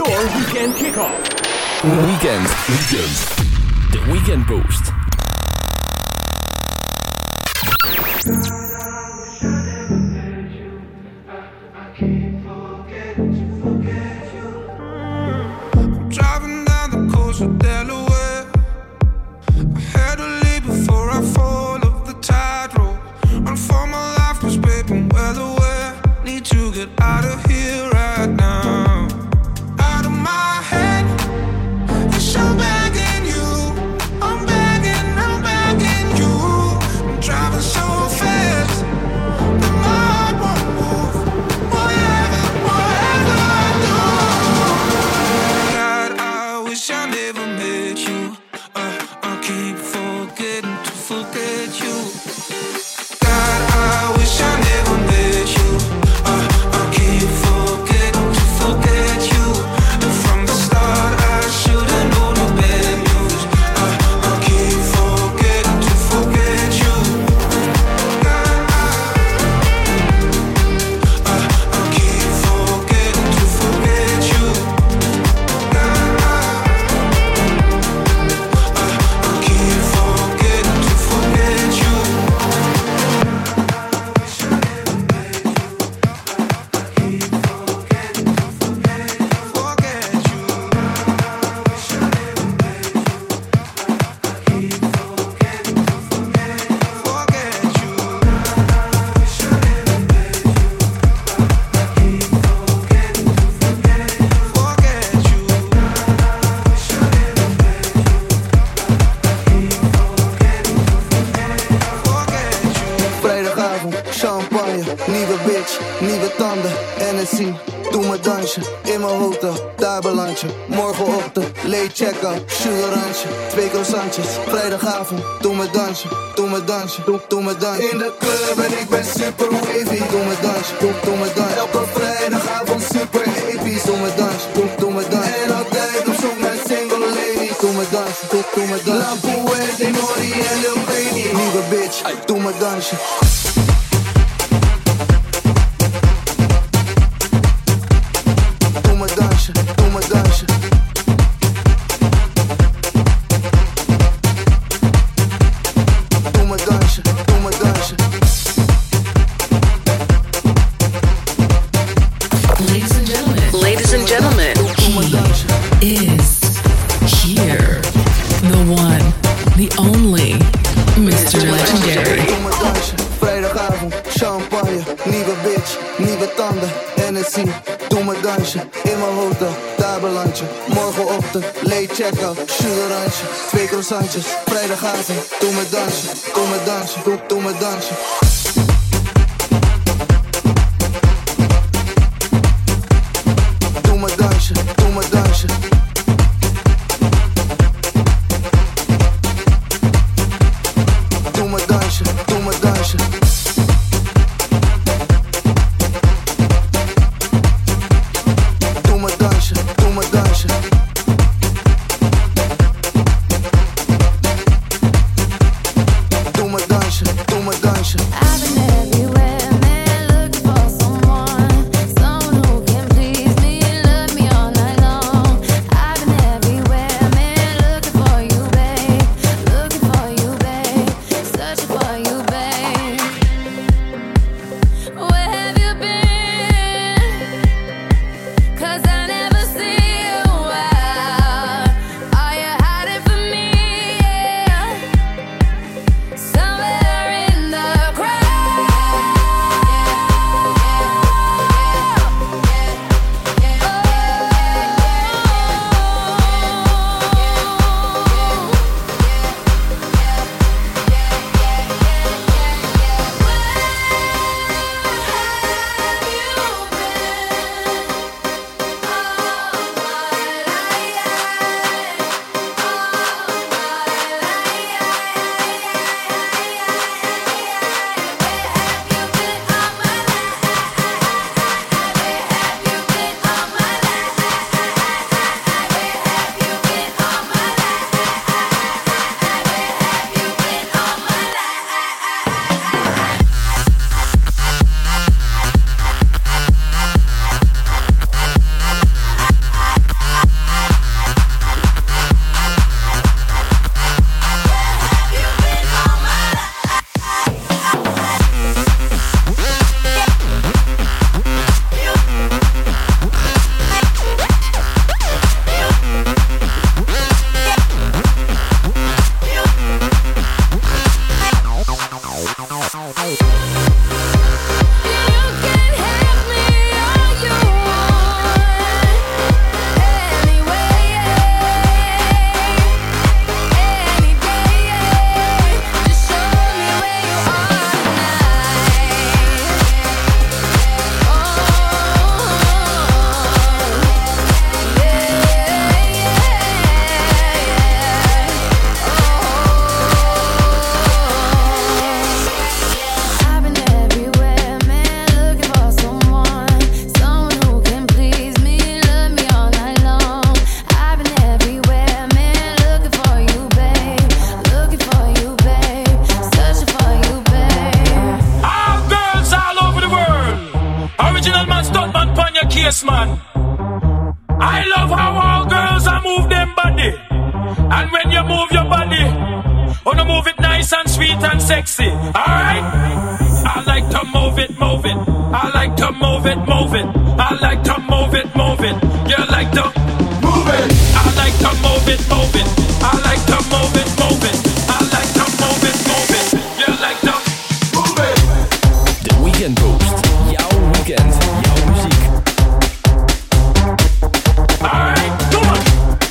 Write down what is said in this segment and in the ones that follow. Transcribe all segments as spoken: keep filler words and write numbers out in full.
your weekend kickoff. Weekend. Weekend. De Weekend Boost. Driving down the coast of Delaware, I had to leave before I fall off the tightrope. Run for my life, 'cause babe, I'm well aware. Need to get out of here right now. Out of my head, yes, I'm begging you. I'm begging, I'm begging you. I'm driving so fast, but my heart won't move. Whatever, whatever I do. God, I wish I never met you. Uh, I keep forgetting to forget you. God, I wish I never met you. Uh, I keep forgetting to forget you. And from the start, I should've known the bad news. Uh, I keep forgetting to forget you. God, I, uh, I keep forgetting to forget you. God, I, uh, I keep forgetting to forget you. Vrijdagavond, champagne, nieuwe bitch, nieuwe tanden, N S C. Doe me dansje, in mijn hotel, daar beland je. Morgenochtend, late check-out, sugarantje, twee croissantjes. Vrijdagavond, doe me dansje, doe me dansje, doe, doe me dansje. In de club en ik ben super wavy, doe me dansje, doe, doe me dansje. Elke vrijdagavond super episch, doe me dansje, doe, doe me dansje. En altijd op zoek naar single ladies, doe me dansje, doe, doe me dansje. La Puente, Nori en Lil Baby, nieuwe bitch, doe me dansje. Doe me dansje, doe me dansje. Doe me dansje, doe me dansje. Ladies and gentlemen, Ladies and gentlemen, he is here. The one, the only, mister Legendary. Doe me dansje, vrijdagavond, champagne, nieuwe bitch, nieuwe tanden, N S C. Doe me dansje, in mijn hotel, daar beland je. Morgenochtend, late check-out, sugarantje, twee croissantjes. Vrijdagavond, doe me dansje, doe me dansje, doe, doe me dansje. Doe me dansje, doe me dansje. Doe me dansje, doe me dansje. Doe me dansje, doe me dansje. Doe me dansje, doe me dansje. I've been everywhere, man, looking for someone, someone who can please me, love me all night long. I And when you move your body, wanna move it nice and sweet and sexy. Alright? I like to move it, move it. I like to move it, move it. I like to move it, move it. You like to move it. I like to move it, move it. I like to move it, move it. I like to move it, move it. You like to move it. De Weekend Boost. Jouw weekend, jouw muziek. Alright, come on.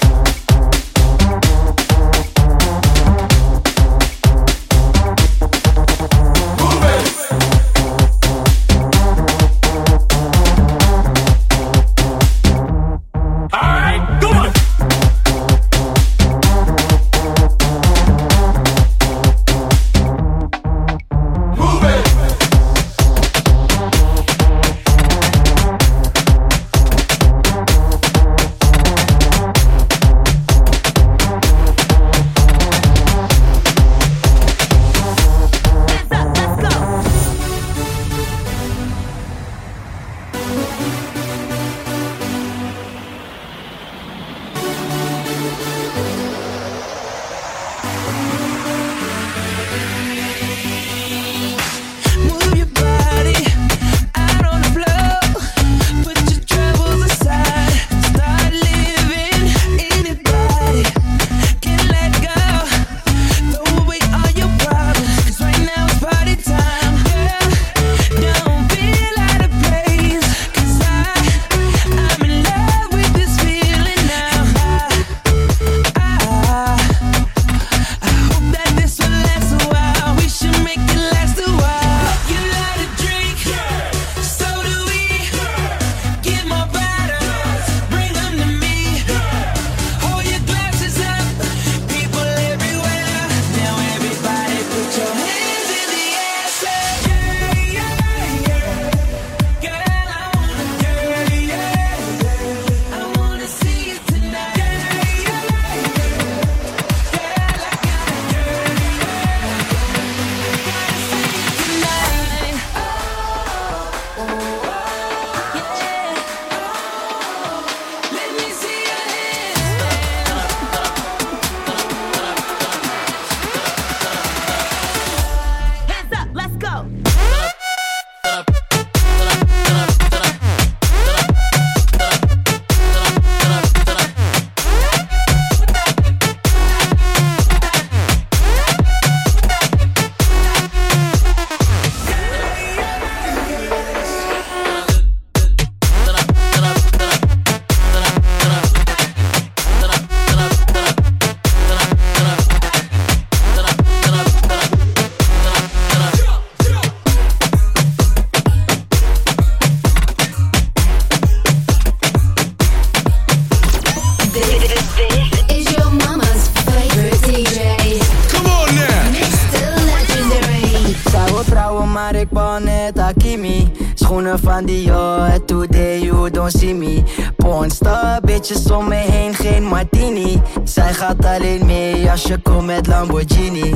Schoenen van Dior, today you don't see me. Pornstar, bitches om me heen, geen martini. Zij gaat alleen mee als je komt met Lamborghini.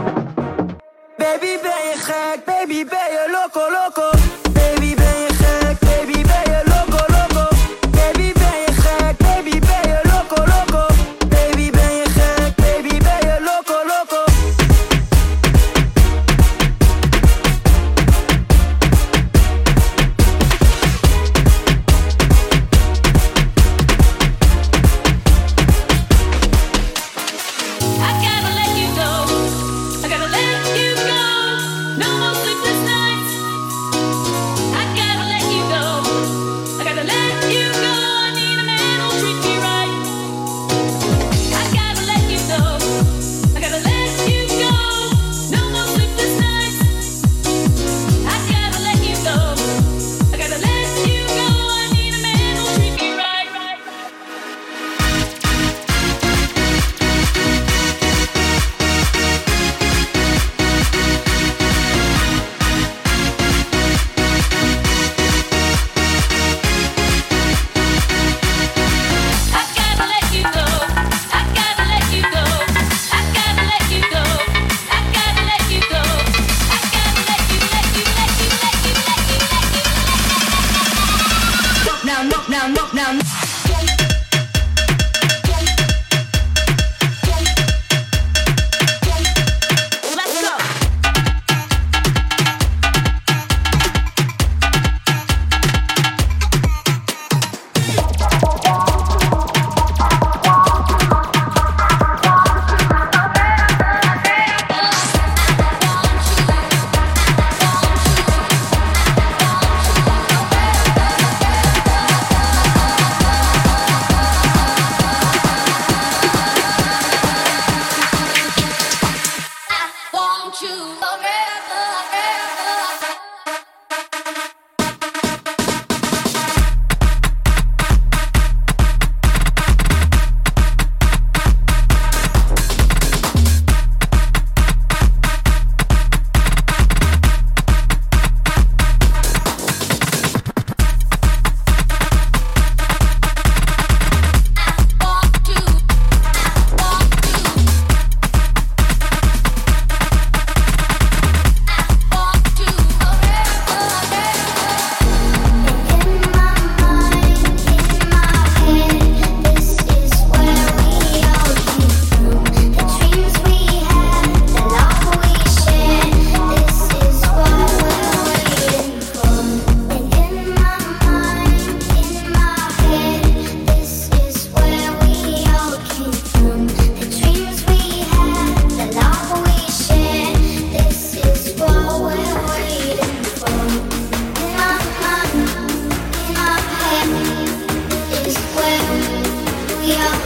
Baby ben je gek, baby ben je loco loco. Baby ben je gek, baby ben je loco loco. Baby ben je gek, baby ben je loco loco. Baby ben je gek, baby ben je loco loco. I gotta let you go. No more sleepless nights. we are